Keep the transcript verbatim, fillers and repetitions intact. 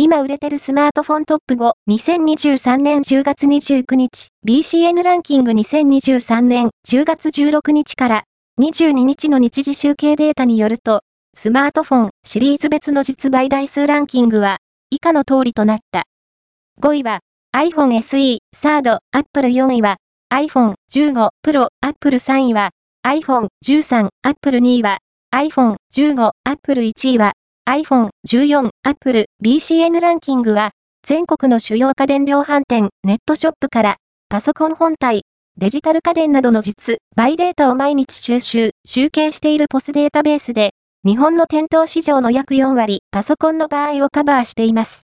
今売れてるスマートフォントップご、にせんにじゅうさんねんじゅうがつにじゅうくにち、ビーシーエヌ ランキングにせんにじゅうさんねんじゅうがつじゅうろくにちからにじゅうににちの日時集計データによると、スマートフォンシリーズ別の実売台数ランキングは以下の通りとなった。ごいは iPhone エスイー、サード、Apple よんいは iPhone じゅうご Pro、Apple さんいは iPhone じゅうさん、Apple にいは iPhone じゅうご、Apple いちいは iPhone じゅうよん、Apple、ビーシーエヌ ランキングは全国の主要家電量販店、ネットショップからパソコン本体、デジタル家電などの実売データを毎日収集、集計しているポスデータベースで日本の店頭市場の約よんわりパソコンの場合をカバーしています。